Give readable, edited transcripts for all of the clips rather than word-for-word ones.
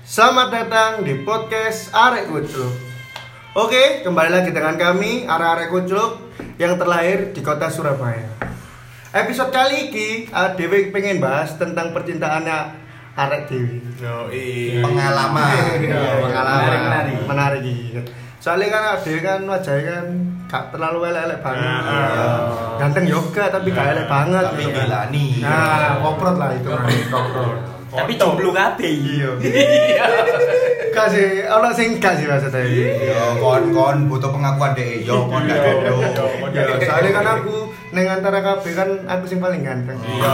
Selamat datang di podcast Arek Kucluk. Oke, kembali lagi dengan kami Arek Kucluk yang terlahir di kota Surabaya. Episode kali ini Dewi pengen bahas tentang percintaannya Arek Dewi. Pengalaman. Menarik gitu. Soalnya kan Dewi kan wajahnya kan gak terlalu elek-elek banget. Ganteng yoga tapi gak elek banget. Tapi gitu kan. gilani. Nah, koprot lah itu. Koprot. Tapi jomblo kabeh. Iya. Kasih ono sing gak sih maksudnya. Yo kon butuh pengakuan deh. Yo kon gak jodoh. Soalnya kan aku neng antara kabeh kan aku sing paling ganteng. Iya.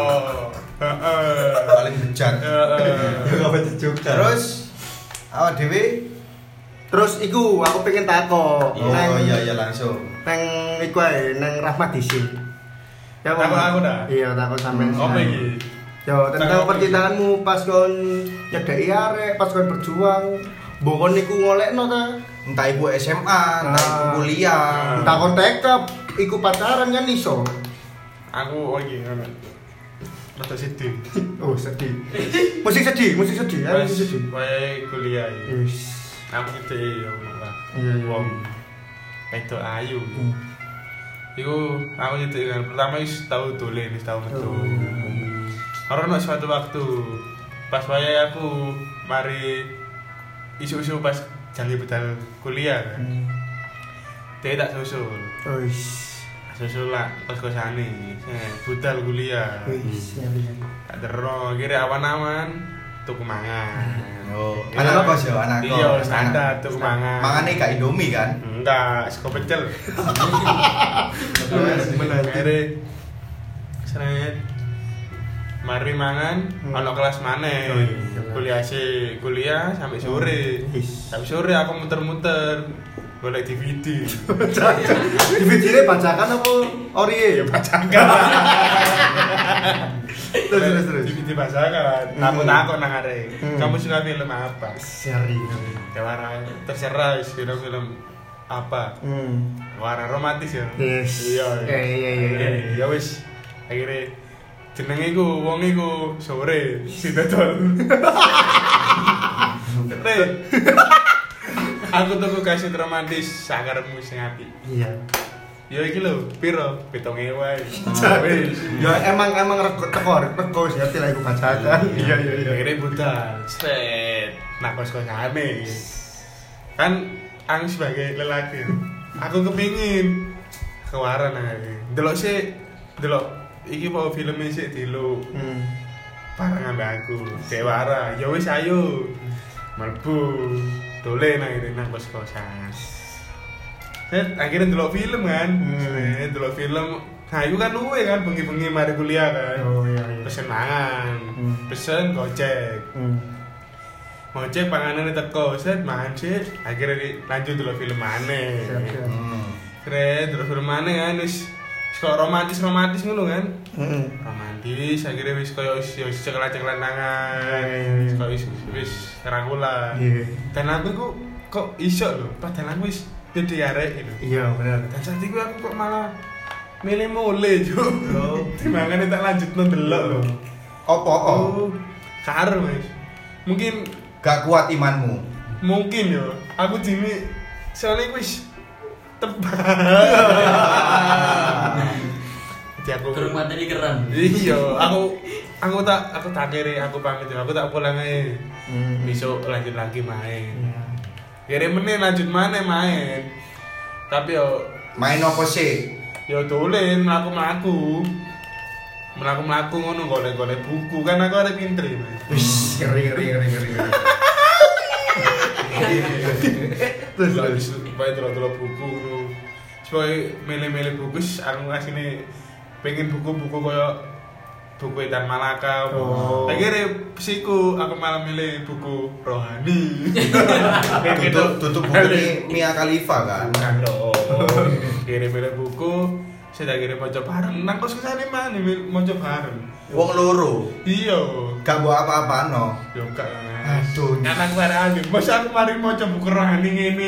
Paling bejat. Gak betul juga. Terus awak dhewe Terus iku aku pengen takok. oh iya langsung. Neng iku ae neng Rahmat Disi. Ya Takok aku dah? Iya, takok sampean. Apa iki? Yo tentang percintaanmu pas kon nyedeki arek, pas kon berjuang. Mbok kon niku ngolekno ta? Entah ibu SMA, entah ibu kuliah. Entah kon TK iku pacaran kan iso. Aku iki ngono. Rada sedih. Oh, sedih. Musik sedih. Musik sedih. Wae kuliah iki. Wis. Aku gitu ya malah. Iya. Wong itu ayu. Iku aku gitu kan pertama wis tau dolen, wis tau metu. Karena suatu waktu pas wayahe aku mari isu-isu pas janji budal kuliah kan. Dia tak susul. Wis. Susul lah kos-kosane. Budal kuliah. Wis. Tak dero kira awan-awan tuku mangan. Oh, anak kos yo, anak kos. Iya, standar tuku mangan. Mangane gak Indomie kan? Enggak, sego pecel. Akhirnya seret mari mangan, ono kelas maneh. Kuliah sampai sore. Sampai sore aku muter-muter golek DVD. DVD-ne bacakan apa ori? Ya bacakan. Terus. DVD bacakan. Aku takut nang arek. Kamu suka film apa? Seri. Ya warna terserah film apa. Warna romantis ya. Yes. Iya. Iya. Ya wis. Akhirnya jenenge iku wong iku sore si dodol. Aku tuku kasih romantis sakarepmu sing apik. Iya. Ya iki lho, piro? 7.000 wae. Wis. Ya emang teko wis ngerti lah iku bacakan. Iya. Akhirnya budal. Set. Nah kos-kosane. Kan aku sebagai lelaki, aku kepingin kewaran ae. Delok iki mau filmnya sih dulu. Bareng ambek aku. Dewara. Ya wis ayo. Mlebu. Dolen akhirnya nang kos-kosan. Set akhirnya ndelok film kan. Ndelok film. Nah, itu kan luwe kan bengi-bengi mari kuliah kan. Oh iya. Pesen mangan. Pesen gojek. Gojek panganane teko, set mangan sih. Akhirnya lanjut ndelok film maneh. Keren, terus film maneh kan wis kok romantis ngono kan. Romantis akhirnya wis koyo wis ceklan-ceklan tangan. Kok wis rangkulan. Dan aku kok iso lho, padahal aku wis dadi arek itu. Iya, bener. Dan saat itu aku kok malah milih mule yo. Timangane tak lanjutno delok lho. Apa? Karo wis. Mungkin Gak kuat imanmu. mungkin yo. Aku jini soalnya wis tebak. Jadi aku Kurang materi keren. iya, aku tak kiri, aku pamit, aku tak pulang aja. Besok lanjut lagi main. Kira menit lanjut mana main. Tapi yo Main apa sih? yo dolen mlaku-mlaku ngono golek-golek buku kan aku ada pinter ya. Wis, ngeri. Terus supaya delok buku ngono. Supaya milih-milih buku aku ngasine pengen buku-buku koyo buku Edan Malaka. Akhirnya psiku aku malah milih buku rohani. Tutup buku ini Mia Khalifa kan? Kan dong. Akhirnya milih buku, saya akhirnya maca bareng. Nang kos kesane mana maca bareng. Wong loro. Iya. Gak buat apa-apa no. Yo gak. Aduh. Anak bareng. Mas aku mari maca buku rohani ngene.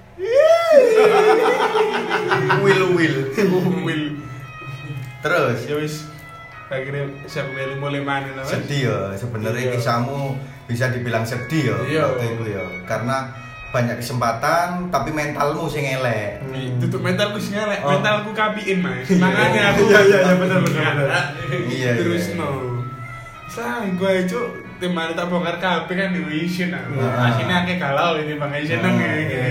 Will. Terus Ya wis akhirnya saya milih mulai mana sedih ya sebenarnya Iya. kisahmu bisa dibilang sedih Iya. waktu itu ya. Karena banyak kesempatan tapi mentalmu sing elek. Tutup mentalku sih ngelek, Oh. mentalku kapiin mas. Makanya aku Iya, benar. Iya, terus iya. no. Selang gue cuk timane tak bongkar kabeh kan di Vision aku. Ah. Asine akeh galau ini makanya seneng Ah. ya.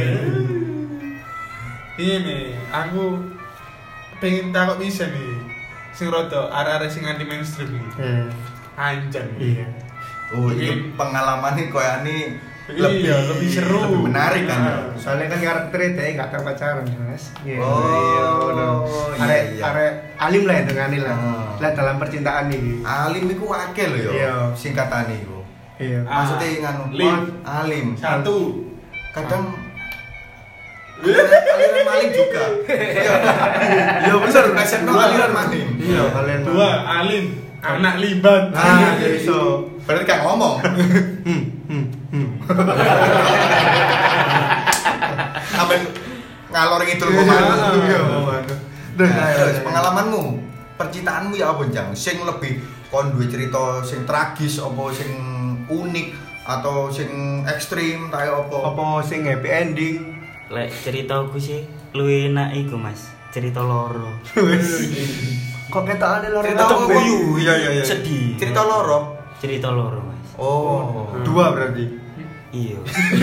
Ini aku pengen takut bisa nih. Sing rada arek-arek sing anti mainstream iki. Anjang. Iya. Oh, itu pengalamannya kayak ini Iya, lebih seru. lebih menarik kan. Ah. Soalnya kan karakternya dia nggak tahu pacaran, Mas. Iya. Oh, bener. iya, Arek iya. arek alim lah dengan lah. Oh. Lah dalam percintaan ini. Alim iku akeh lho ya. Iya. Singkatane iku. Iya. Maksudnya nganu Lim. alim. Satu. Kadang aliran maling juga. Iya bener, kesetno aliran maling. Iya, kalian. Dua, Alim. Anak libat. Ah, iso. Berarti kan ngomong. Sampai ngalor ngidul pemalu. Iya. Nah, terus pengalamanmu, percintaanmu ya apa Jang? Sing lebih kon duwe cerita sing tragis apa sing unik atau sing ekstrim ta apa? Apa sing happy ending? Lek ceritaku sih luwih enak iku Mas, cerita loro. Kok ketokane loro Cerita kabeh? guyu. Iya iya iya. Sedih. Cerita loro. Cerita loro Mas. Oh. Dua berarti. Iya.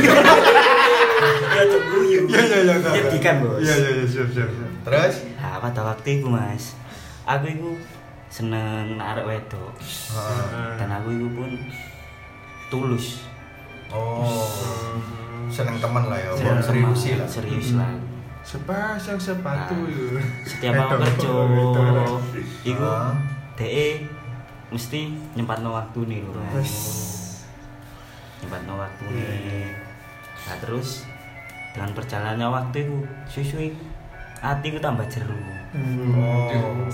Ya tuh guyu. Iya. Menyedihkan, Bos. Iya, siap. Terus? Nah, pada waktu itu Mas, aku iku seneng arek wedok. Dan aku iku pun tulus. Oh. Seneng temen lah ya. Seneng Serius sama- lah. Serius lah. Sepasang sepatu yuk. Setiap aku Wedok. kerja Wedok. iku Ah. DE mesti nyempatno waktu nih lho. Wes. Nyempatno waktu nih. Nah terus dengan perjalannya waktu itu susu hatiku tambah jeru. Oh.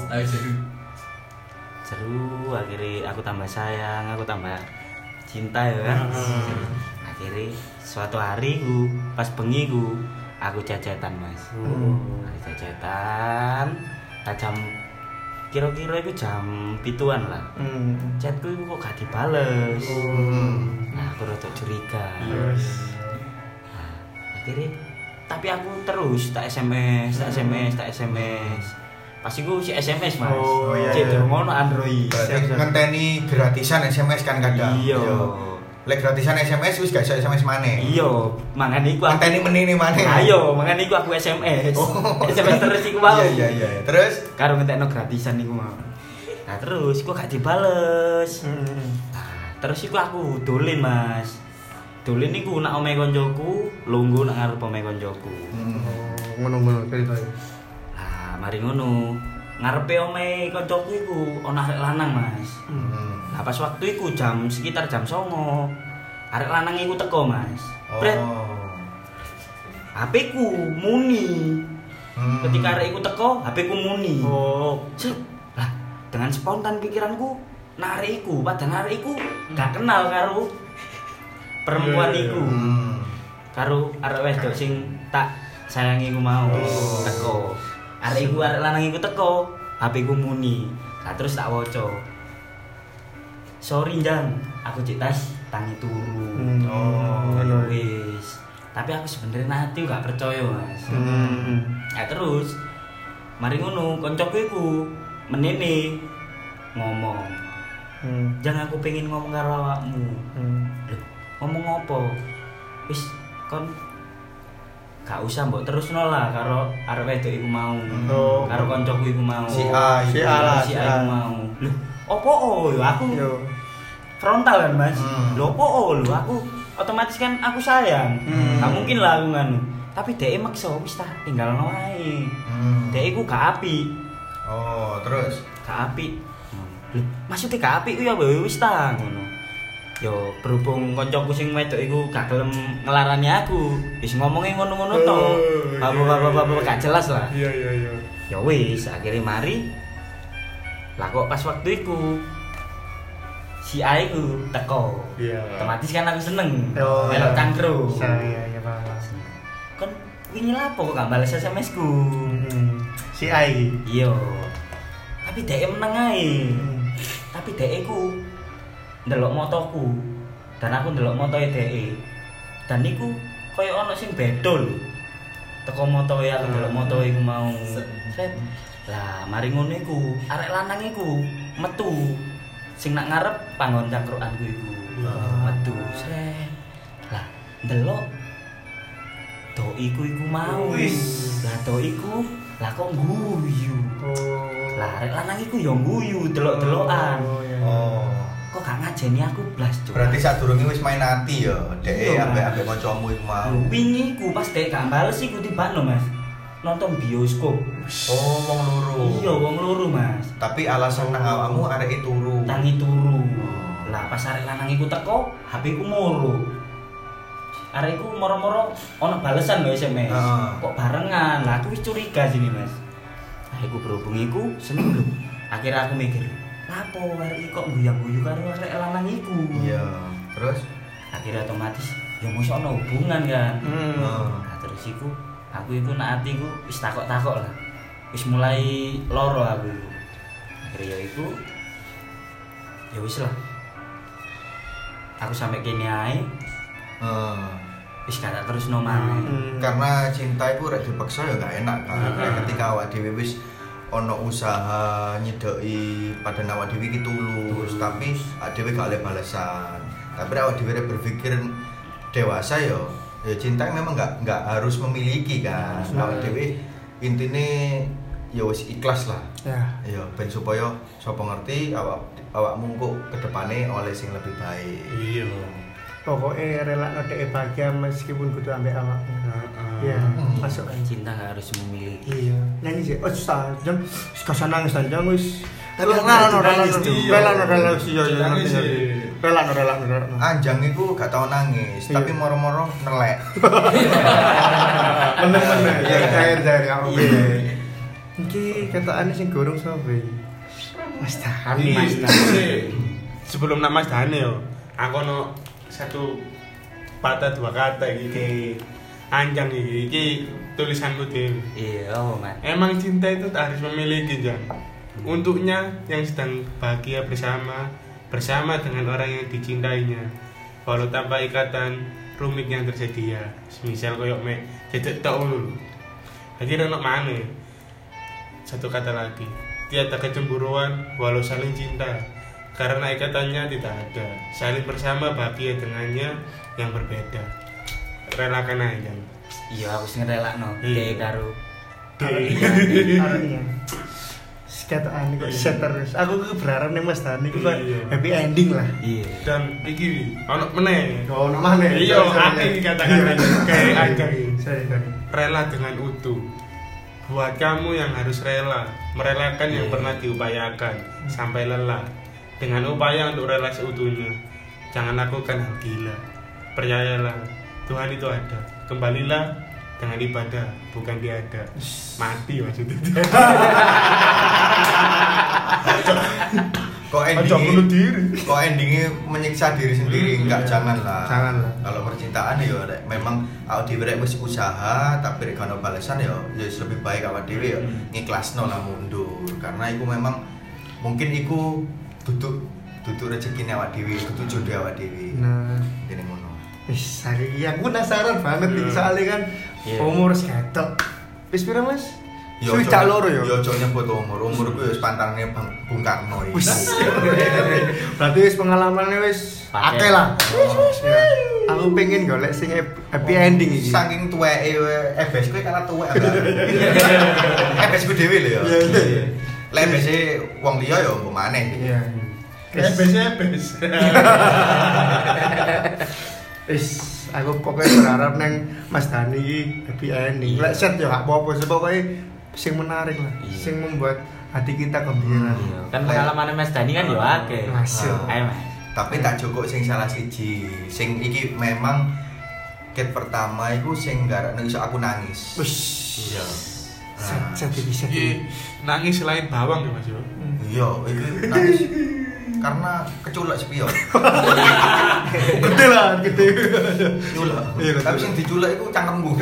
Jeru akhirnya aku tambah sayang, aku tambah cinta ya kan. Akhirnya suatu hari ku pas bengi ku aku jajetan Mas. Aku jajetan jam kira-kira itu jam 7-an lah. Chatku itu kok gak dibales. Nah aku rada curiga. Nah, akhirnya tapi aku terus tak SMS. Pas iku si SMS Mas. Oh, iya, Cek iya. ngono Android. Berarti ngenteni gratisan SMS kan kadang. Iya. Lek gratisan SMS wis gak iso SMS maneh. Iya, mangane iku aku. Ngenteni menini maneh. Ayo, mangane iku aku SMS. Oh. SMS terus iku mau. Iya. Terus? Karo ngentekno gratisan iku mau. Nah, terus iku gak dibales. Nah, terus iku aku dolen, Mas. Dolen iku nak omahe koncoku, lungguh nak ngarep omahe koncoku. Ngono ceritanya. Nah, mari ngono. Ngarepe omahe koncoku iku ana arek lanang, Mas. Nah, pas waktu iku sekitar jam 09.00. Arek lanang iku teko, Mas. Bret, HP ku muni. Ketika arek iku teko, HP ku muni. Set. Lah, dengan spontan pikiranku narik iku, padahal arek iku gak kenal karo perempuan iku. Karo arek wedok sing tak sayangi iku mau teko. Arek iku arek lanang iku teko, HP ku muni. Nah, terus tak waca. Sorry Jang, aku cek tas tangi turu. Ngono. Wis. Tapi aku sebenarnya nanti gak percaya, Mas. Ya terus mari ngono, koncoku iku menene ngomong. Jangan aku pengen ngomong karo awakmu. Loh, ngomong apa? Wis kon gak usah mbok terusno lah karo arek wedok iku mau. Karo koncoku iku mau. Si A iku mau. Loh, opo aku frontal kan Mas. Lho opo lho aku otomatis kan aku sayang. Gak mungkin lah aku nganu. Tapi dhek maksa wis ta tinggalno wae. Dhek iku gak apik. Oh, terus? Gak apik. Lho, maksudnya gak apik ku ya wis ta ngono. Yo berhubung koncoku sing wedok iku gak gelem ngelarani aku, wis ngomongin ngono-ngono to. Bapak-bapak gak jelas lah. Iya. Ya wis akhirnya mari. Lah kok pas waktu iku si A iku teko. Iya. Otomatis kan aku seneng. Oh, Melok iya. cangkru. Iya, paham. Kan wingi lapo kok gak bales SMS ku. Si Ai. Iya. Tapi dhek meneng ae. Tapi dhek iku ndelok motoku. Dan aku ndelok motoe dhek. Dan niku koyo ana sing beda lho. Teko motoe aku ndelok motoe iku mau. Set. Lah mari ngono iku, arek lanang iku metu. Sing nak ngarep panggon cangkrukanku iku. Metu. Set. Lah ndelok doiku iku mau. Lah doiku lah kok guyu. Lah arek lanang iku ya guyu delok-delokan. Kok gak ngajeni aku blas, Cuk. Berarti sadurunge wis main ati ya, dhek ambek kancamu iku mau. Wingi iku pas dhek gak bales iku tibakno, Mas. Nonton bioskop. Oh, wong loro. Iya, wong loro, Mas. Tapi alasan nang awakmu arek turu. Tangi turu. Lah pas arek lanang iku teko, HP ku moro. Arek iku moro-moro ana balesan lho SMS. Kok barengan. Lah aku wis curiga sini, Mas. Lah iku berhubung iku seneng lho. Akhirnya aku mikir, lapo arek kok guyu-guyu karo arek lanang iku. Iya. Terus Akhirnya otomatis ya mosok ana hubungan kan. Nah, terus iku aku iku nak atiku wis takok-takok lah. Wis mulai loro aku. Akhirnya ya iku ya wis lah. Aku sampai kene ae. Wis gak terus nomane. karena cinta itu rek dipaksa ya gak enak kan. Ketika awak dhewe wis ana usaha nyedoki pada awak dhewe iki tulus, tapi awak dhewe gak oleh balasan. Tapi awak dhewe berpikir dewasa ya cinta memang nggak harus memiliki kan. Awak dhewe intine ya wis ikhlas lah. Ya ben supaya sapa ngerti awakmu kok kedepane oleh sing lebih baik. Iya. Pokoknya rela ngedek bahagia meskipun kudu ambek awakmu. Iya, masuk aja. Cinta gak harus memiliki. Iya. Nyanyi sih. Oh, susah. Jam gak nangis jam wis. Rela. Anjang iku gak tau nangis, tapi moro-moro nelek. Bener-bener. Ya cair kamu. Iki ketakane sing gorong sapa iki? Mas Dani. Sebelum nama Mas Dani yo, aku ono satu patah dua kata iki anjang iki tulisanku dhewe. Iya, Mas. Emang cinta itu tak harus memiliki, Jang. Untuknya yang sedang bahagia bersama dengan orang yang dicintainya. Walau tanpa ikatan rumit yang tersedia. Misal koyo mek cecek tok ngono. Akhirnya ono maneh. Satu kata lagi, tiada kecemburuan walau saling cinta. Karena ikatannya tidak ada. Saling bersama bahagia dengannya yang berbeda. Relakan aja. Iya, aku sing ngerelakno dhek karo Arenya. Sekataan kok set terus. Aku berharap nih Mas Dani kok happy ending lah. Iya. Dan iki ono meneh. Oh, ono maneh. Iya, aku kata-kata kayak anjang iki. Sorry. Rela dengan utuh. Buat kamu yang harus merelakan yang pernah diupayakan sampai lelah. Dengan upaya untuk rela seutuhnya. Jangan lakukan hal gila. Percayalah, Tuhan itu ada. Kembalilah dengan ibadah, bukan tiada. Mati maksudnya. Kok endingnya menyiksa diri sendiri? Enggak, janganlah. Kalau percintaan ya memang awak dhewe rek wis usaha tapi rek ono balasan ya lebih baik awak dhewe ya ngikhlasno lah mundur. Karena iku memang mungkin iku duduk rezekine awak dhewe, duduk jodoh awak dhewe. Nah, ngene ngono. wis hari iki aku penasaran banget iki soalnya kan umur seketok. Wis pira, Mas? Yo cak loro yo. Yo aja nyebut umurku wis pantangane Bung Karno iki. Berarti wis pengalamane wis akeh lah. Aku pengen golek sing happy ending iki. Saking tuweke EBS kowe karena tuwek enggak. EBS ku dhewe lho ya. Lek EBS wong liya ya mbok maneh. Iya. EBS. Wis aku pokoknya berharap neng Mas Dani iki happy ending. Lek set yo gak apa-apa, pokoke sing menarik lah, sing membuat hati kita gembira. Kan pengalaman Mas Dani kan yo akeh. Masuk. Ayo, Mas. Tapi tak joko sing salah siji. Sing iki memang ket pertama iku sing garakne iso aku nangis. Wis. Iya. Set bisa. Iki nangis selain bawang ya Mas yo. Iya, iki nangis karena keculak spion. Gede lah, gede. Culak. Tapi sing diculak iku cangkemku.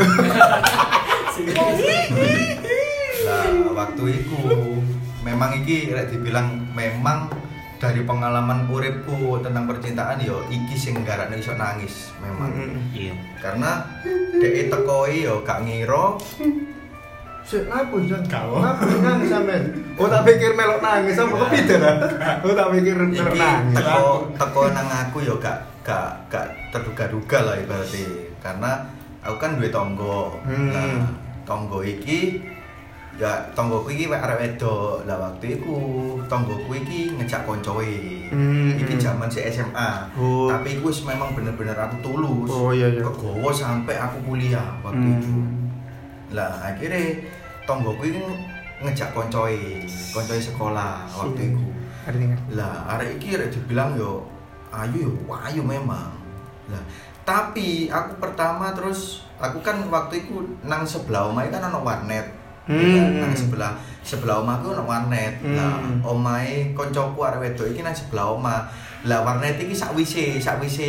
Lah waktu itu memang iki rek dibilang memang dari pengalaman uripku tentang percintaan yo iki sing garakne iso nangis memang. Iya. Karena dhek tekoi yo gak ngira Sik ngapun jan. Kau. Ngapun nangis sampean. Oh tak pikir melok nangis apa kepide ta? Oh tak pikir melok iki nangis. teko nang aku yo gak terduga-duga lah ibaratnya. Karena aku kan duwe tangga. Nah, tangga iki ya tanggoku iki arek wedok. Lah waktu iku tanggoku iki ngejak koncoe. Iki jaman si SMA. Tapi iku wis memang bener-bener aku tulus. Oh iya. Kegowo sampai aku kuliah waktu itu. Lah akhirnya tanggoku iki ngejak koncoe sekolah waktu itu. Lah arek iki arek dibilang yo ayu memang. Lah tapi aku pertama terus aku kan waktu itu nang sebelah omahe kan ono warnet. Nang sebelah omahku ono warnet. Lah omahe koncoku arek wedok iki nang sebelah omah. Lah warnet iki sakwise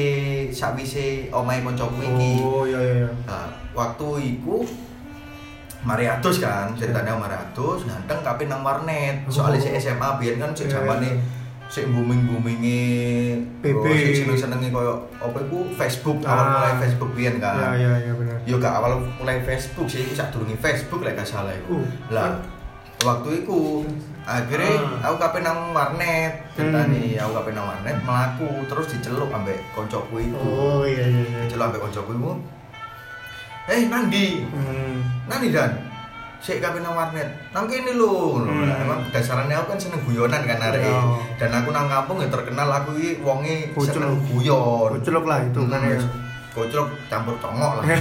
omahe koncoku iki. Oh iya. Nah, waktu iku mari atus kan, ceritanya mari atus, ganteng tapi nang warnet. Soalnya si SMA biyen kan sik jamane sik booming-boominge PP sik seneng-senenge koyo apa iku Facebook, awal mulai Facebook biyen kan. Iya bener. Yo gak awal mulai Facebook sih, iku sadurunge Facebook lek gak salah iku. Lah waktu iku akhirnya aku kape nang warnet, ceritane aku kape nang warnet mlaku terus diceluk ambek koncoku iku. Oh iya. Diceluk ambek koncoku iku. Nandi. Nandi dan sik kape nang warnet. Nang kene lho. Emang dasarannya aku kan seneng guyonan kan arek. Dan aku nang kampung ya terkenal aku iki wonge seneng guyon. Kuculuk lah itu kan ya. Kuculuk campur congok lah.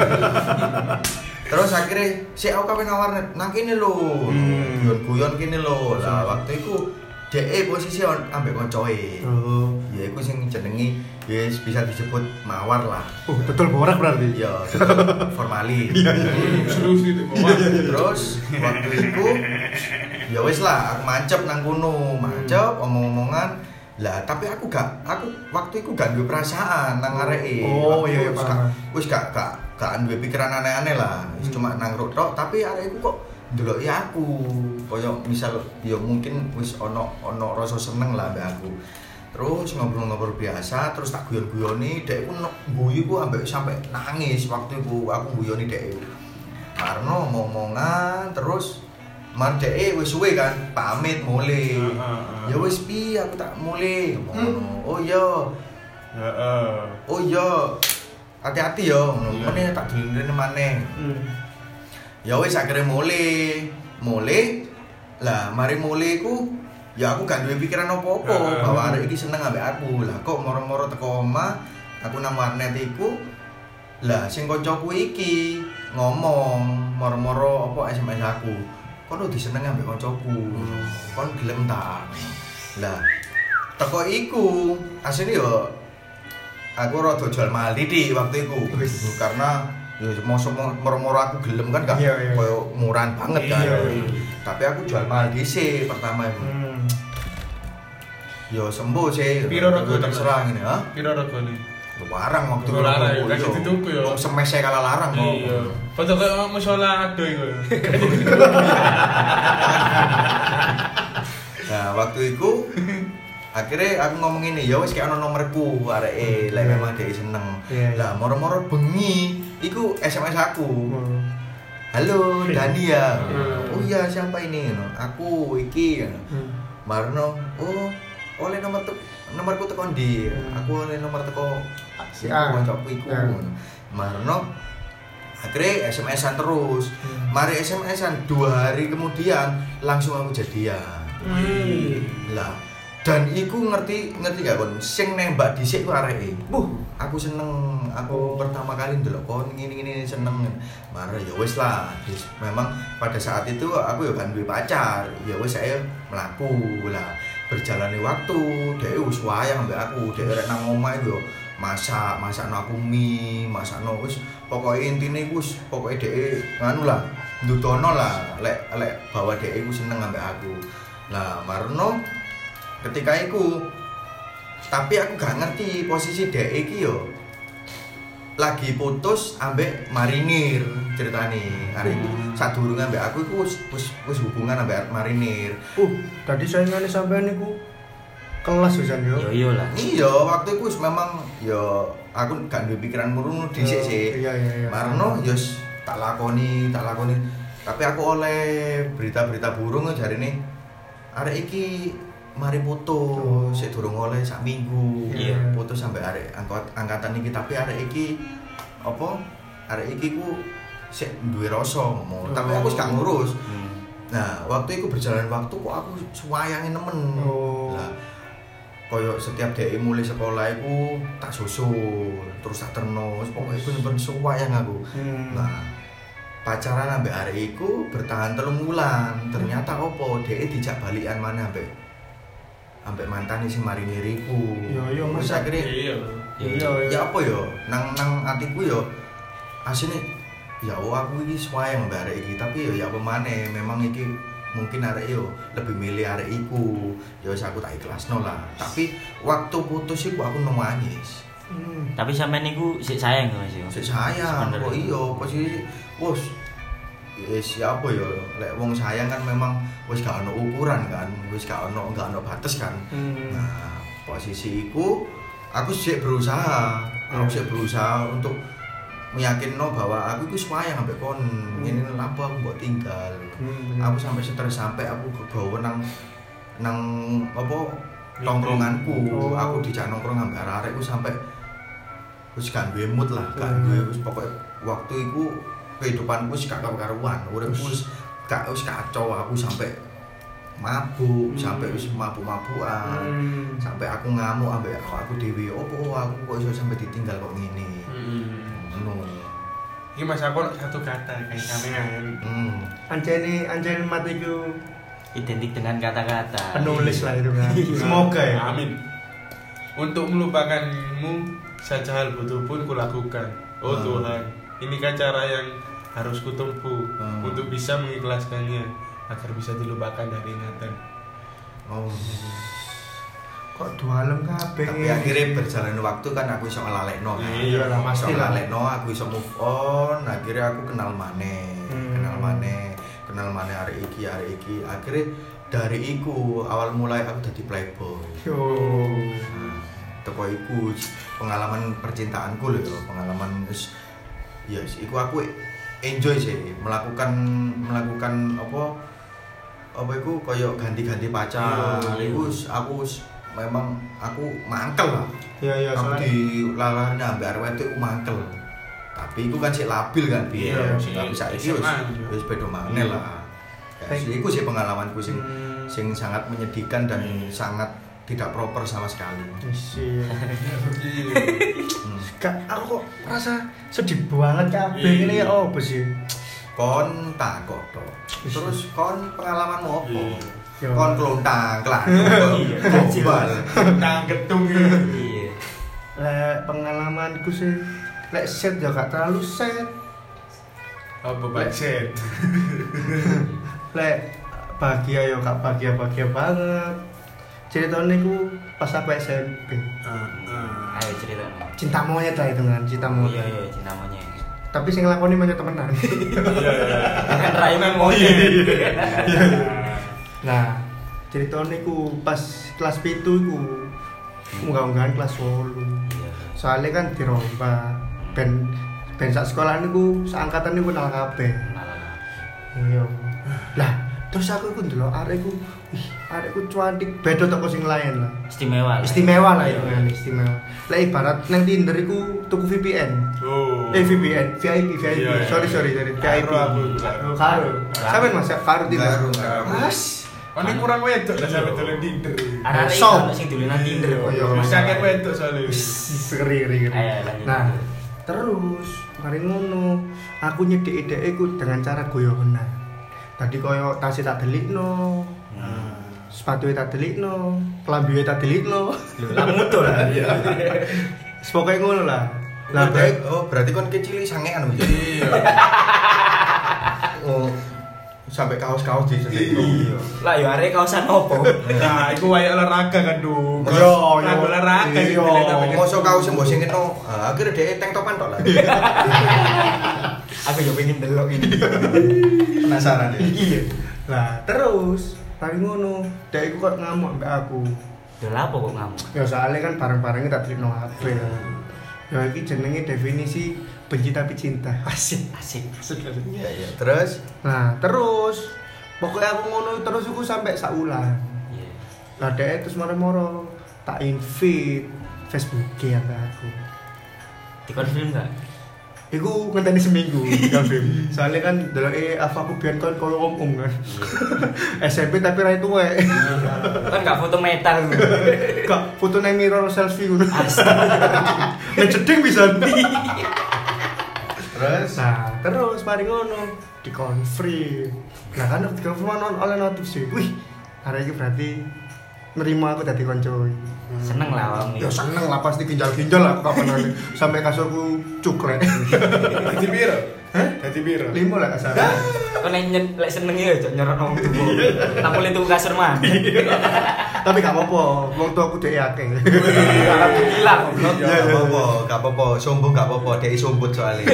Terus akhirnya sik aku kape nang warnet. Nang kene lho. Guyon-guyon kene lho. Lah waktu iku dhek posisi ambek koncoe. Ya iku sing jenenge yes bisa disebut mawar lah. Betul borak berarti. Ya, formalin. Iya. Serius itu mawar. Terus waktu itu ya wis lah aku mancep nang kono, omong-omongan. Lah tapi aku waktu itu gak duwe perasaan nang areke. Oh iya paham. Wis gak duwe pikiran aneh-aneh lah. Wis cuma nang tok tapi arekku kok ndeloki aku. Kaya misal ya mungkin wis ono rasa seneng lah mbek aku. Terus ngobrol-ngobrol biasa, terus tak guyon-guyoni, dek ku guyu ku ambek sampai nangis waktu itu aku guyoni dek. Karena omongan terus man dek wis suwe kan pamit mulai. Ya wis pi aku tak mulai. Oh iya. Oh iya. Hati-hati ya, ngene tak dilindrine maneh. Ya wis akhirnya mulai. Lah mari mulai ku ya aku gak duwe pikiran apa-apa bahwa arek iki seneng ambek aku. Lah kok moro-moro teko omah, aku nang warnet iku. Lah sing kancaku iki ngomong moro-moro apa SMS aku. Kon diseneng ambek kancaku. Kon gelem ta? Lah teko iku asline yo aku rada jual mahal didik waktu iku. Karena ya moro-moro aku gelem kan gak koyo murahan banget kan. Tapi aku jual mahal dhisik pertama itu. Yo sembuh sih. Piro regane? Terserah ngene, ha? Piro regane? Larang waktu itu. Larang ya, kasih dituku ya. Wong semese kalah larang kok. Iya. Foto kaya musyola ado iku. Nah, waktu itu akhirnya aku ngomong ini, ya wis kayak ono nomorku areke, lek memang dhek seneng. Lah moro-moro bengi iku SMS aku. Halo Dani ya. Oh iya siapa ini? Aku iki. Marno, oleh nomorku teko ndi? Aku oleh nomor teko si kancaku iku. Marno akhirnya SMS-an terus. Mari SMS-an 2 hari kemudian langsung aku jadian. Lah dan iku ngerti gak kon sing nembak dhisik ku areke. Aku seneng, aku pertama kali ndelok kon ngene-ngene seneng. Mare ya wis lah. Memang pada saat itu aku ya kan duwe pacar. Ya wis saya mlaku lah. Berjalannya waktu, dhek wis wayang mbek aku. Dhek rek nang omah yo masakno aku mie, masakno wis pokoke intine wis pokoke dhek nganu lah, ndudono lah lek bawa dhek iku seneng ambek aku. Lah marno ketika iku tapi aku gak ngerti posisi dhek iki yo lagi putus ambek marinir ceritane. Arek sadurunge ambek aku iku wis hubungan ambek marinir. Tadi saingane sampean niku kelas Susan yo. Yo lah. Iya, waktu itu memang yo aku gak duwe pikiran murung dhisik sih. Iya. Marno yo tak lakoni. Tapi aku oleh berita-berita burung jarine arek iki mari foto sik durung oleh sak minggu. Iya. Foto sampai arek angkatan iki tapi arek iki apa? Arek iki ku sik duwe rasa ngomong. Tapi aku gak ngurus. Nah, waktu itu berjalan waktu kok aku suwayangi nemen. Lah koyo setiap dhek mulai sekolah iku tak susul, terus tak terno, pokoke bener-bener suwayang aku. Nah, pacaran ambek arek iku bertahan 3 bulan. Ternyata opo dhek dijak balikan mana ambek mantane sing mariniriku. Yo Mas. Terus akhirnya Iya. ya apa yo nang atiku yo asine ya aku iki suwayang ambek arek iki tapi ya apa maneh memang iki mungkin arek yo lebih milih arek iku ya wis aku tak ikhlasno lah tapi waktu putus iku aku nangis. Tapi sampean niku sik sayang Mas yo. Sik sayang kok iya posisi wis siapa ya lek wong sayang kan memang wis gak ono ukuran kan wis gak ono batas kan. Nah posisi iku aku sik berusaha untuk meyakinno bahwa aku iku sayang ambek kon ngene lapo aku mbok tinggal. Aku sampai stres sampai aku kegawa nang apa tongkronganku. Aku dijak nongkrong ambek arek-arekku sampai wis gak duwe mood lah, gak duwe wis pokoke waktu iku kehidupanku wis gak karuan, uripku wis kacau aku sampai mabuk, sampai wis mabuk-mabukan. Sampai aku ngamuk ambek aku dhewe, opo aku kok iso sampai ditinggal kok ngene. Ini Mas aku satu kata kayak sampean. Anjene matiku Identik dengan kata-kata. penulis lah itu kan. Semoga ya. Amin. Untuk melupakanmu saja hal butuh pun kulakukan. Oh Tuhan, ini kan cara yang harus kutempuh untuk bisa mengikhlaskannya agar bisa dilupakan dari ingatan. Kok dualem kabeh. Tapi akhirnya berjalan waktu kan aku iso ngelalekno. Iya lah, pasti iso lah. ngelalekno, aku iso move on, akhirnya aku kenal maneh. Kenal maneh arek iki. Akhirnya dari iku awal mulai aku dadi playboy. Teko iku pengalaman percintaanku lho, pengalaman wis yes, iku aku enjoy sih melakukan apa iku koyo ganti-ganti pacar. Iku aku memang aku mangkel lah. Iya Aku soalnya dilalani ambek arek wedok aku mangkel. Tapi iku kan sik labil kan biyen. Tapi saiki wis beda maneh lah. Iku sih pengalamanku sing sangat menyedihkan dan sangat tidak proper sama sekali. Aku kok merasa sedih banget kabeh ini ya opo sih? Kon takok tok. Terus kon pengalamanmu opo? Yo. Kon klontang, gombal. Nang gedung Iya. Lek pengalamanku sih lek set ya gak terlalu set. apa budget. Lek bahagia ya gak bahagia banget. Ceritanya ku pas aku SMP. Ayo cerita. Cinta monyet lah itu kan, cinta monyet. Iya, cinta monyet. Tapi sing nglakoni monyet temenan. Kan raimu monyet. Nah, ceritanya ku pas kelas 7 iku unggah-unggahan kelas 8. Iya. Soalnya kan diromba ben sak sekolah niku seangkatan niku kenal kabeh. Iya. Lah, terus aku iku ndelok arekku, arekku cuantik beda toko sing lain lah. Istimewa lah itu kan, istimewa. Lah ibarat nang Tinder iku tuku VPN. VPN, VIP. Iya. Sorry, VIP. Karo. Sampeyan Mas, karo Tinder. Mas. Ini kurang wedok lah sampe dolen Tinder. Arek Sok. iki sing dolanan Tinder kok. Iya. Mesti akeh wedok soalnya. Seri. Ayo lanjut. Nah, terus mari ngono, aku nyedhek-dhek iku dengan cara goyonan. Tadi koyo tas tak delikno. Sepatu tak delikno, klambi tak delikno. Lho, lah mutu lah. Iya. Pokoke ngono lah. Lah Berarti kon kecil sangean lho. Iya. Oh, sampai kaos-kaos di Iya. Lah yo arek kaosan opo? Nah, iku wayak olahraga kan, Du. Yo, Olahraga iya. Mosok kaos sing mbok singketno, akhirnya dhek tank topan tok lah. Aku yo pengen delok ini. Penasaran ya. Iya. Lah, terus mari ngono, dhek iku kok ngamuk mbak aku. Lho lapo kok ngamuk? Ya soalnya kan barang-barangnya tak terima HP ya. Ya ini jenenge definisi benci tapi cinta. Asik. Iya. Terus Nah, terus pokoknya aku ngono terus aku sampai saulan. Iya. Lah dhek terus moro-moro tak invite Facebook-e aku. Dikonfirm enggak? Iku ngenteni seminggu konfirm. Soalnya kan deloke aku biyen kan koyo om kan. SMP tapi ra tuwek. Kan enggak foto meta lu. Kak, fotone mirror selfie ngono. Astaga. Nek jeding bisa. terus Nah, terus mari ngono dikonfirm. Nah, kan dikonfirm oleh notif. Wih, hari ini berarti nerima aku dadi konco. Seneng lah wong Ya seneng lah pasti ginjal-ginjal aku kapan nanti sampai kasurku cukrek. Dadi piro? Hah? Dadi piro? 5 lah kasar. Kok lek seneng ya cok nyerot nang tubuh. Tampil itu kasur mandi. Tapi gak apa-apa, wong tua aku dhek akeh. Alhamdulillah goblok. ya gak apa-apa, sombong gak apa-apa, dia sombong soalnya.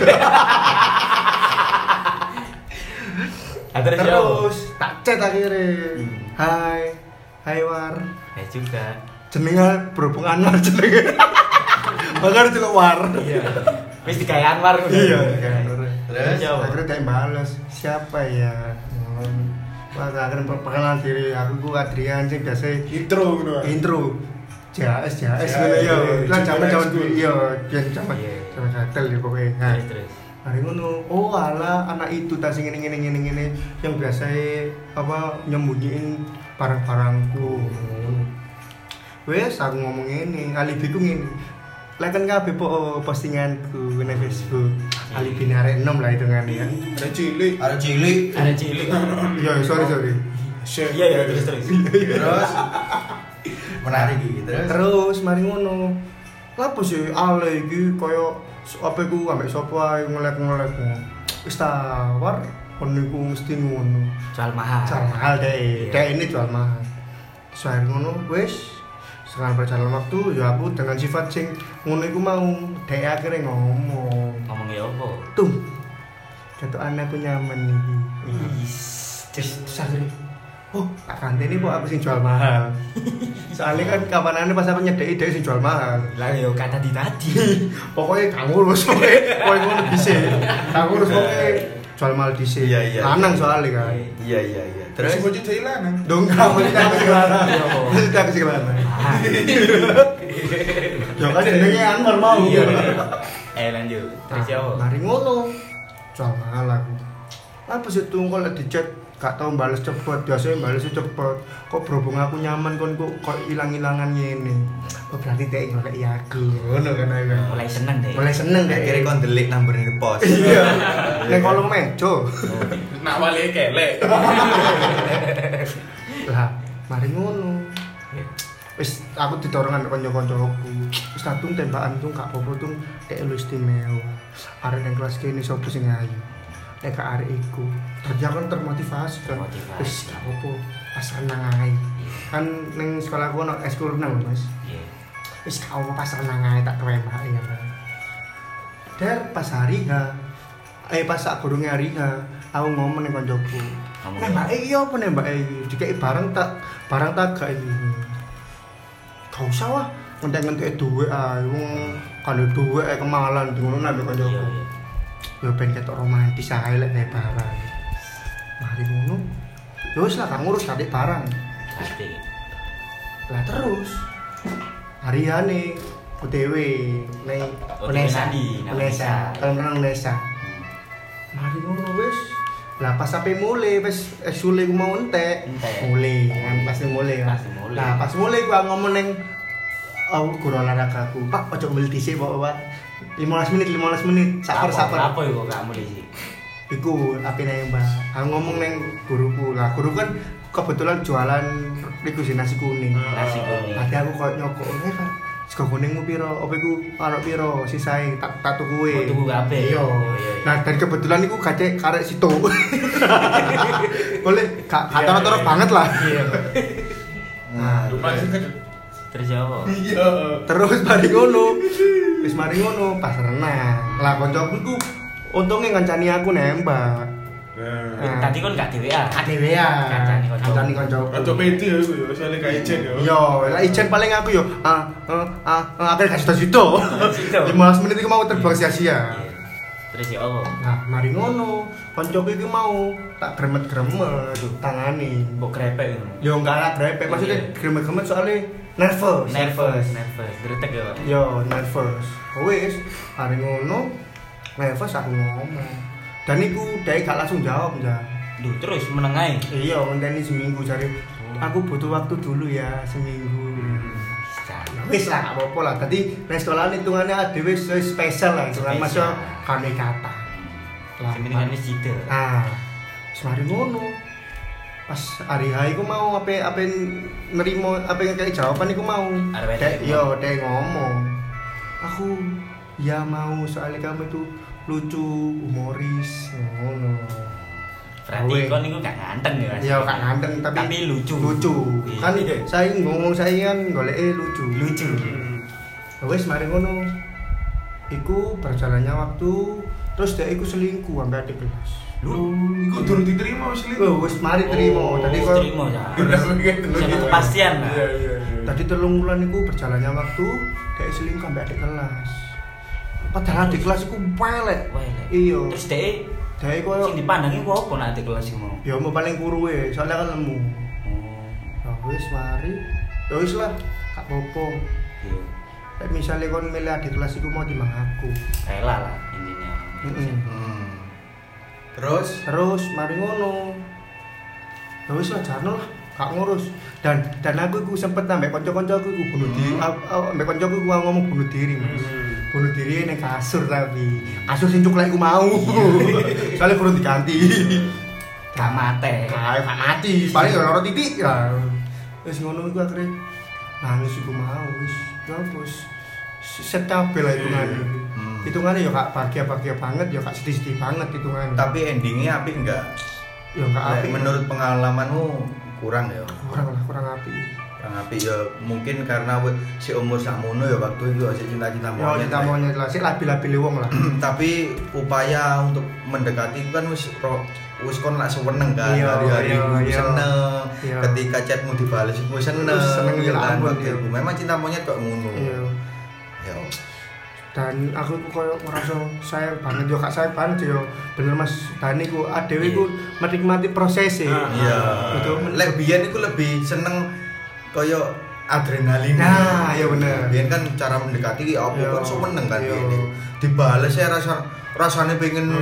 Terus tak chat akhirnya. Hai War. Ya juga. Jenenge berhubung Anwar jenenge. Makanya juga War. Iya. Wis digawe Anwar ngono. Iya, kan. Terus Akhirnya dia balas, siapa ya? Wah, akhirnya perkenalan diri, aku Adrian sih biasa Intro ngono. intro. JS Ya, ngono ya. Lan zaman zaman school. iya, biyen zaman Iya. zaman gatel ya pokoknya. Nah, Terus. hari ngono, oh alah anak itu tas ngene yang biasa apa nyembunyiin barang-barangku. Wes aku ngomong ngene, alibiku ngene. Like kan kabeh postinganku di Facebook. Alibi arek 6 lah hitungannya kan. Ada cilik. ada cilik. Ada cilik. Iya, sorry. Share. Iya terus. Terus menarik gitu. Terus mari ngono. Lapo sih ale iki koyo apa iku ambek sapa ae ngelek-ngelek. Wis tawar kon niku mesti ngono. Jual mahal. Jual mahal deh. Deh ini jual mahal. Soal ngono wis sekarang berjalan waktu ya aku dengan sifat sing ngono iku mau dek akhirnya ngomong. Ngomongnya apa? Tuh. Jatuh anakku nyaman iki. Terus akhirnya oh, tak kantini kok aku sing jual mahal. Soalnya kan kapanane pas aku nyedeki dhek sing jual mahal. Lah yo kata tadi. Pokoknya gak ngurus pokoknya ngono dhisik. Gak ngurus pokoknya jual mahal dhisik. Iya. Lanang soalnya kan. Iya. Terus Terus bocah hilang. Dong gak mau kita keselana. Kita keselana. Ya kan jenenge Anwar mau. Iya. Lanjut. Terus ya apa? Mari ngono. Jual mahal aku. Apa sih tuh kalau di chat gak tau bales cepet, biasanya balesnya cepet. Kok berhubung aku nyaman kok hilang-hilangan ngene. Oh berarti dhek ngoleki aku. Ngono kan aku. Mulai seneng deh. Mulai seneng dhek. akhirnya kon delik number di pos. Iya. Nek kolong mejo. Nak wale kelek. Lah, mari ngono. Wis aku didorong ambek kanca-kancaku. Wis tatung tembakan tuh gak apa-apa tuh dhek lu istimewa. Arek nang kelas kene sapa sing ayu. Nek gak arek iku, dadi aku termotivasi kan. Termotivasi. Wis gak apa-apa, pas renang ae. Kan ning sekolahku ono eskul renang lho, Mas. Iya. Wis gak apa pas renang ae tak tembak ya kan. Der pas hari pas sak gurunge hari aku ngomong ning kancaku. Ngomong Nembake iya apa nembake iki? Dikeki barang tak gak iki. Gak usah wah, ngentek-ngentek duwe ae. Wong kalau duwe kemalan ngono nang kancaku. Iya. Ya ben ketok romantis ae lek gawe barang. Mari ngono. Ya wis lah gak ngurus kadek barang. Pasti. Lah terus hariane OTW ning Unesa. Unesa. Kalau menang Unesa. Mari ngono wis. Lah pas sampe mulai wis sule ku mau entek. Mulai kan pasti mulai kan. Pasti mulai. Nah, pas mulai ku ngomong ning aku guru olahragaku. Pak, ojo mbeli dhisik, Pak. 15 menit saper. Apa iku kamu di sini? Iku apine Mbak. Aku ngomong neng guruku. Lah guru kan kebetulan jualan iku nasi kuning. Nasi kuning. Tadi aku koyo nyokok, kan sego kuningmu piro? Apa iku karo piro? Sisae tak tukuwe. Oh, tuku kabeh. Iya. Iya. Nah, dan kebetulan iku gacek karek situ. Boleh gak toro-toro banget lah. Iya. Nah, Terus ya apa? Iya. terus mari ngono. Wis mari ngono pas renang. Lah kancaku iku untunge ngancani aku nembak. Nah, Tadi kan gak dhewean. Kancane konco. kancane kanca. kanca pede ya iku ya, soalnya gak ijen ya. Yo, lah ijen paling aku yo akhirnya kasih situ. 15 menit iku mau terbuang sia-sia. Iya. Terus ya Allah. Nah, mari ngono, koncoku iki mau tak gremet-gremet tangane. Mbok grepek ngono. Yo enggak lah grepe, maksudnya gremet-gremet soalnya nervous. Gretek ya. Yo, nervous. Wis, mari ngono, nervous aku ngomong. Dan iku dhek gak langsung jawab, ya. Duh, terus menengae. Iya, ngenteni seminggu cari. Aku butuh waktu dulu ya, seminggu. Ya wis lah, gak apa-apa lah. Tadi nek sekolahan hitungannya dhewe spesial lah, hitungan masuk kami kata. Lah, Sementingan wis jida. ah, semari ngono. Pas hari H iku mau apa nerimo apa yang kayak jawaban iku mau. Dek dek ngomong. Aku ya mau soalnya kamu itu lucu, humoris, ngono. Berarti kon niku gak nganteng ya. Ya gak nganteng tapi lucu. Lucu. Kan saya ngomong saya kan goleke lucu. Wes mari ngono. Iku berjalannya waktu terus dia iku selingkuh sampai adik kelas. Lu iku durung diterima wis lho. Wes mari terima. Tadi kok terima ya. Sama kepastian lah. Iya. tadi 3 bulan iku berjalannya waktu dia selingkuh sampai adik kelas. Padahal adik kelas iku welek. Iya. Terus dhek Dhek koyo sing dipandangi ku apa nek adik kelas iku mau? ya mau paling kuruwe, soalnya kan lemu. Nah, wis mari. Ya wis lah, gak apa-apa. Iya. Nek misale kon milih adik kelas iku mau timbang aku. Rela lah intinya. Terus mari ngono. Ya wis lah jarno lah, gak ngurus. Dan aku iku sempet ambek kanca-kancaku iku bunuh diri. Ambek kancaku iku ngomong bunuh diri, Mas. Bunuh diri ning kasur tapi kasur sing cuklek iku mau. Soale kurang diganti. Gak mate. Gak mati, paling ya loro titik. Ya. Wis ngono iku akhire nangis iku mau wis. Ya wis set kabeh lah hitungane. Hitungane ya gak bahagia-bahagia banget, ya gak sedih-sedih banget hitungane. Tapi endingnya apik enggak? Ya gak apik. Menurut pengalamanmu kurang ya? Kurang apik. Kurang apik ya mungkin karena si umur sakmono ya waktu itu si cinta-cinta monyet. Ya cinta monyet lah, sik labil-labil wong lah. Tapi upaya untuk mendekati itu kan wis kon lak seneng kan, hari-hari ku seneng. Ketika chatmu dibales iku seneng ya ampun. Memang cinta monyet kok ngono. Iya. Ya. Dan aku koyo ngerasa sayang banget yo kak sayang banget yo. Bener Mas Dani ku adewe ku menikmati prosesnya. Iya. Betul. Lek biyen iku lebih seneng koyo adrenalin. Nah, ya bener. Biyen kan cara mendekati ki apa kan seneng kan Iya. biyen. Dibales ya rasane pengen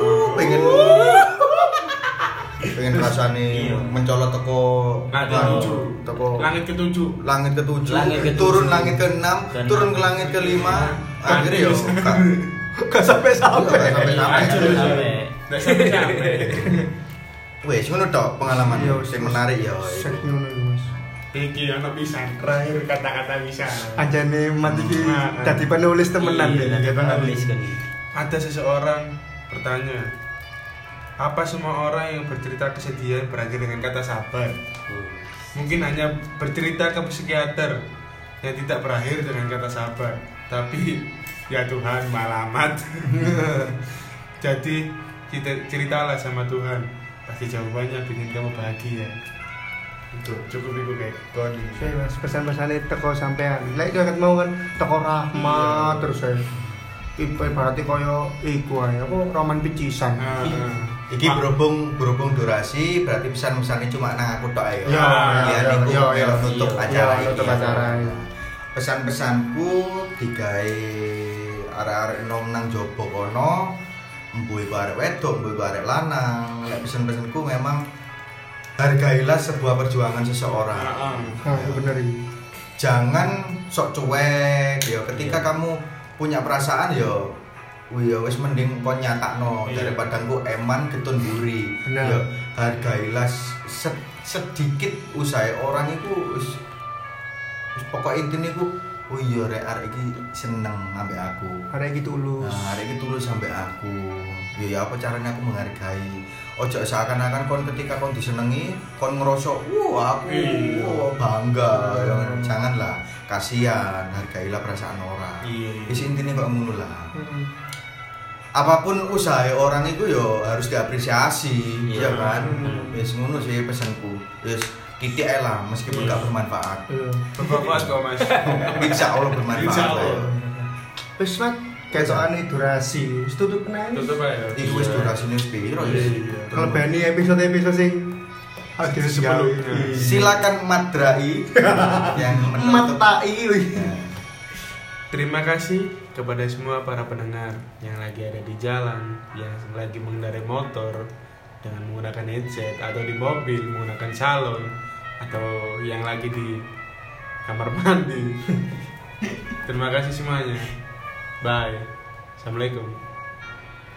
pengen rasane mencolot teko langit ketujuh, turun langit ke-6, turun ke langit ke-5, akhirnya yo Gak sampai. wes ngono tok pengalaman sing menarik ya. Sek ngono iku Mas. Iki ana pisan terakhir kata-kata bisa. Anjane mat iki dadi penulis temenan ya. Penulis kan. Ada seseorang bertanya, apa semua orang yang bercerita kesedihan berakhir dengan kata sabar? Mungkin hanya bercerita ke psikiater yang tidak berakhir dengan kata sabar. Tapi ya Tuhan malamat. Jadi ceritalah sama Tuhan, pasti jawabannya bikin kamu bahagia. Itu cukup itu kayak kon. Saya Mas pesan-pesane teko sampean. Lek ket mau kan teko rahmat terus saya. Ibaratnya koyo iku ae apa roman picisan. Iki berhubung durasi berarti pesan-pesannya cuma nang aku tok ae. Ya, nutup acara nutup acara. Pesan-pesanku digawe arek-arek nom nang jobo kono, mbuh iku arek wedok, mbuh iku arek lanang. Lek pesan-pesanku memang hargailah sebuah perjuangan seseorang. Bener iki. Jangan sok cuek ya ketika kamu punya perasaan ya wis mending kon nyatakno daripada engko eman getun buri. Ya hargailah sedikit usaha orang itu wis pokok intine ku oh iya arek iki seneng ambek aku. Arek iki tulus. Nah, arek iki tulus sampe aku. Ya apa caranya aku menghargai. Ojo seakan-akan kon ketika kon disenengi, kon ngerasa wah aku bangga. Janganlah, kasihan, hargailah perasaan orang. Wis intine kok ngono lah. apapun usaha orang itu yo harus diapresiasi, ya kan? Wis ngono sih pesanku. Wis titik ae lah meskipun gak bermanfaat. Bermanfaat kok Mas. Insya Allah bermanfaat. Insya Allah. Wis mat ketokane durasi. Wis tutup nang. Tutup aja. Iku wis durasine wis piro ya? Kelebani episode-episode sing ada sebelumnya. Silakan Madrai yang menutup. Matai. Terima kasih kepada semua para pendengar yang lagi ada di jalan, yang lagi mengendarai motor dengan menggunakan headset, atau di mobil menggunakan salon, atau yang lagi di kamar mandi. Terima kasih semuanya. Bye. Assalamualaikum.